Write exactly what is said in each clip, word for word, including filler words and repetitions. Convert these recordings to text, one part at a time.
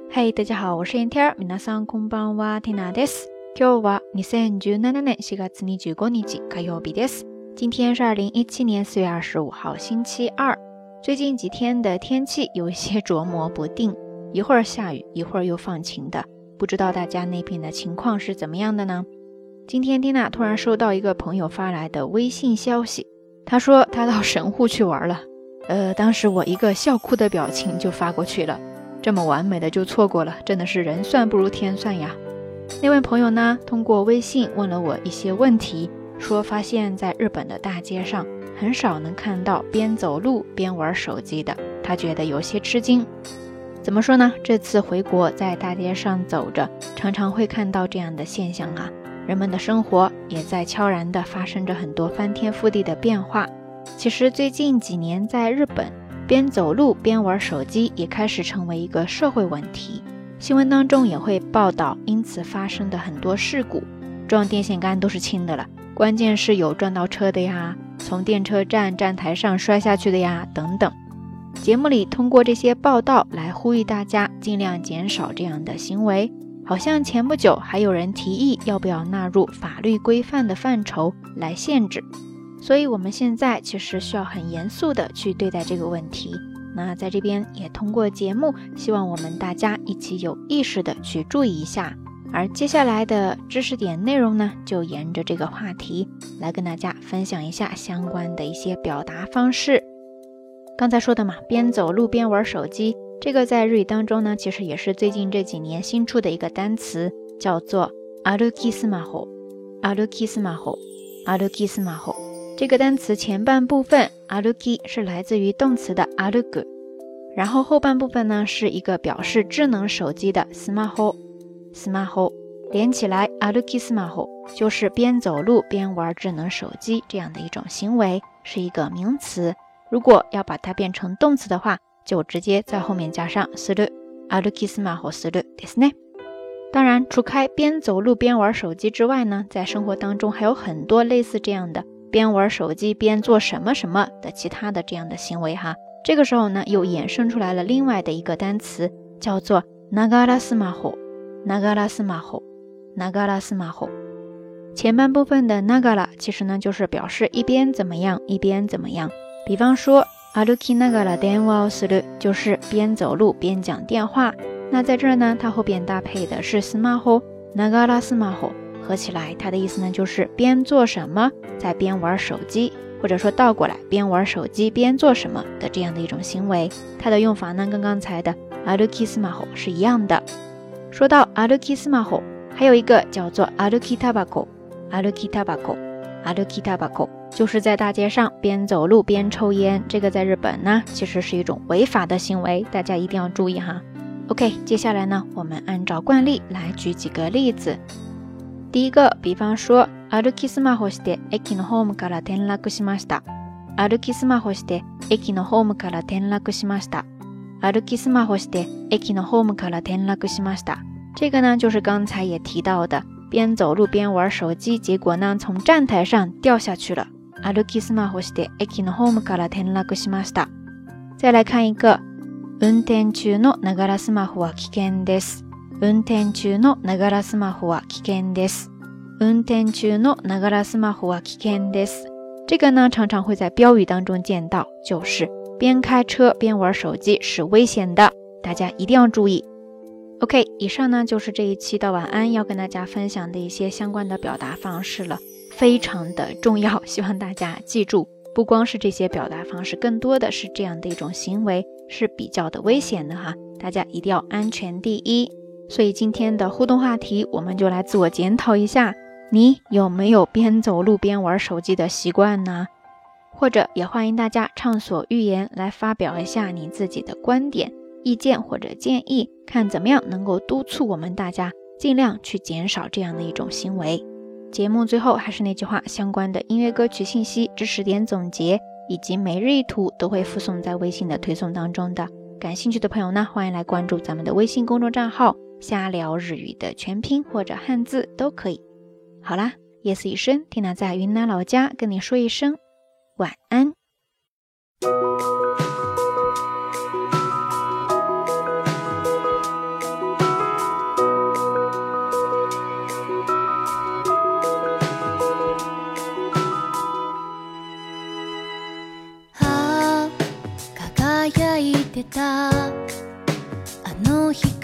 嘿、hey, 大家好，我是燕天儿。皆さんこんばんは、ティナです。今日はにせんじゅうななねんしがつにじゅうごにち火曜日です。今天是二零一七年四月二十五号星期二。最近几天的天气有一些琢磨不定，一会儿下雨，一会儿又放晴的，不知道大家那边的情况是怎么样的呢？今天蒂娜突然收到一个朋友发来的微信消息，他说他到神户去玩了。呃，当时我一个笑哭的表情就发过去了。这么完美的就错过了，真的是人算不如天算呀。那位朋友呢，通过微信问了我一些问题，说发现在日本的大街上很少能看到边走路边玩手机的，他觉得有些吃惊。怎么说呢？这次回国在大街上走着，常常会看到这样的现象啊，人们的生活也在悄然地发生着很多翻天覆地的变化。其实最近几年在日本，边走路边玩手机也开始成为一个社会问题，新闻当中也会报道因此发生的很多事故，撞电线杆都是轻的了，关键是有撞到车的呀，从电车站站台上摔下去的呀等等。节目里通过这些报道来呼吁大家尽量减少这样的行为，好像前不久还有人提议要不要纳入法律规范的范畴来限制。所以我们现在其实需要很严肃的去对待这个问题，那在这边也通过节目希望我们大家一起有意识的去注意一下。而接下来的知识点内容呢，就沿着这个话题来跟大家分享一下相关的一些表达方式。刚才说的嘛，边走路边玩手机，这个在日语当中呢，其实也是最近这几年新出的一个单词，叫做歩きスマホ歩きスマホ歩きスマホ。这个单词前半部分歩き是来自于动词的歩く，然后后半部分呢是一个表示智能手机的スマホスマホ，连起来歩きスマホ就是边走路边玩智能手机这样的一种行为，是一个名词。如果要把它变成动词的话，就直接在后面加上する歩きスマホするですね。当然除开边走路边玩手机之外呢，在生活当中还有很多类似这样的边玩手机边做什么什么的其他的这样的行为哈。这个时候呢，又衍生出来了另外的一个单词，叫做ながらスマホながらスマホながらスマホ。前半部分的ながら其实呢就是表示一边怎么样一边怎么样，比方说歩きながら電話をする就是边走路边讲电话。那在这儿呢，它后边搭配的是スマホながらスマホ，合起来它的意思呢就是边做什么在边玩手机，或者说倒过来边玩手机边做什么的这样的一种行为。它的用法呢跟刚才的歩きスマホ是一样的。说到歩きスマホ，还有一个叫做歩きタバコ歩きタバコ歩きタバコ，就是在大街上边走路边抽烟。这个在日本呢其实是一种违法的行为，大家一定要注意哈。 OK， 接下来呢我们按照惯例来举几个例子。第一个，比方说歩きスマホして駅のホームから転落しました歩きスマホして駅のホームから転落しました歩きスマホして駅のホームから転落しました。这个呢就是刚才也提到的边走路边玩手机，结果呢从站台上掉下去了。歩きスマホして駅のホームから転落しました。再来看一个，運転中のながらスマホは危険です。運転中のながらスマホは危険です。運転中のながらスマホは危険です。这个呢常常会在标语当中见到，就是边开车边玩手机是危险的，大家一定要注意。 OK， 以上呢就是这一期的晚安要跟大家分享的一些相关的表达方式了，非常的重要，希望大家记住，不光是这些表达方式，更多的是这样的一种行为是比较的危险的哈，大家一定要安全第一。所以今天的互动话题，我们就来自我检讨一下，你有没有边走路边玩手机的习惯呢？或者也欢迎大家畅所欲言来发表一下你自己的观点、意见或者建议，看怎么样能够督促我们大家尽量去减少这样的一种行为。节目最后还是那句话，相关的音乐歌曲信息、知识点总结以及每日一图都会附送在微信的推送当中的。感兴趣的朋友呢，欢迎来关注咱们的微信公众账号瞎聊日语的全拼或者汉字都可以。好啦，夜色已深，缇娜在云南老家跟你说一声晚安。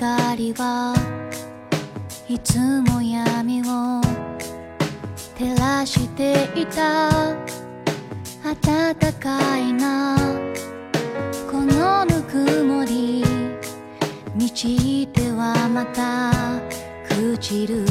光はいつも闇を照らしていた。暖かいなこのぬくもり、満ちてはまた朽ちる。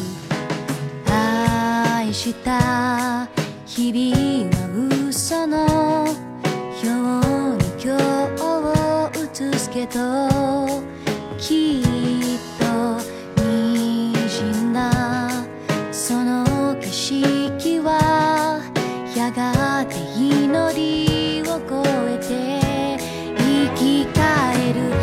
愛した日々は嘘のように今日を映すけど、きっと滲んだその景色はやがて祈りを超えて生き返る。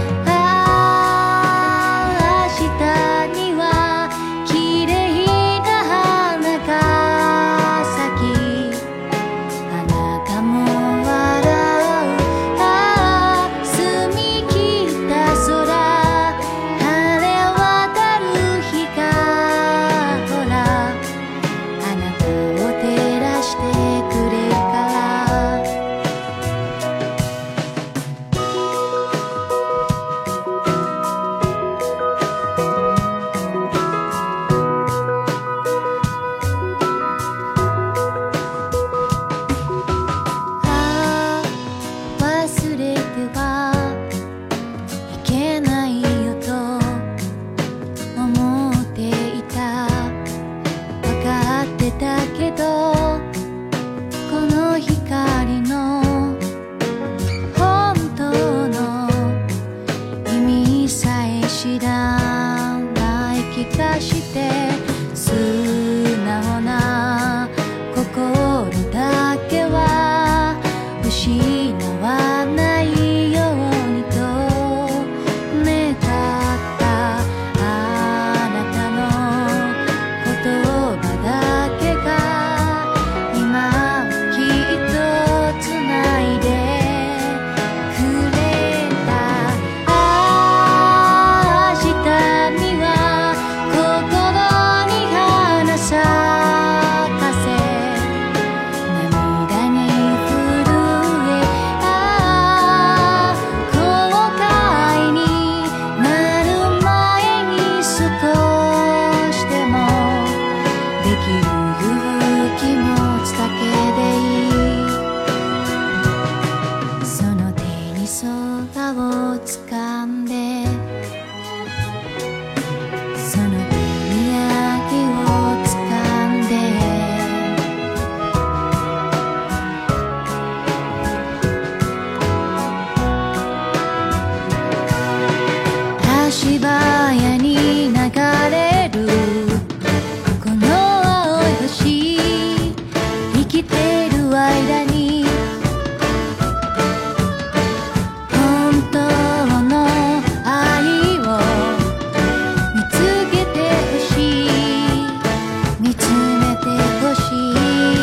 足早に流れるこの青い星、生きてる間に本当の愛を見つけてほしい、見つめてほしい。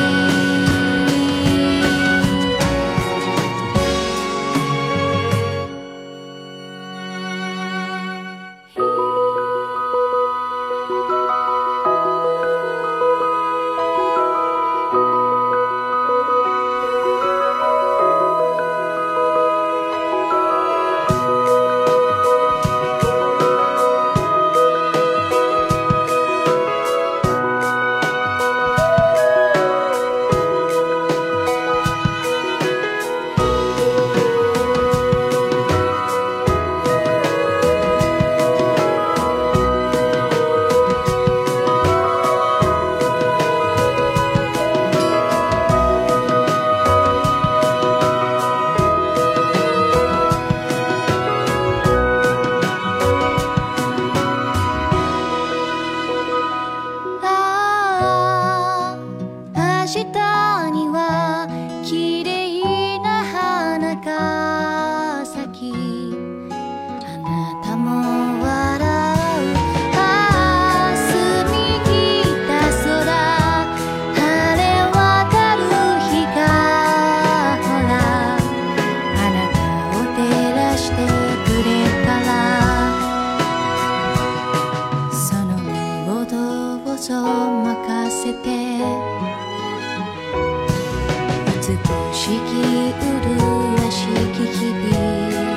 明日には綺麗な花が咲き、あなたも笑う。ああ澄み切った空、晴れ渡る日がほら、あなたを照らしてくれたら、その身をどうぞ任せて、美しき麗しき日々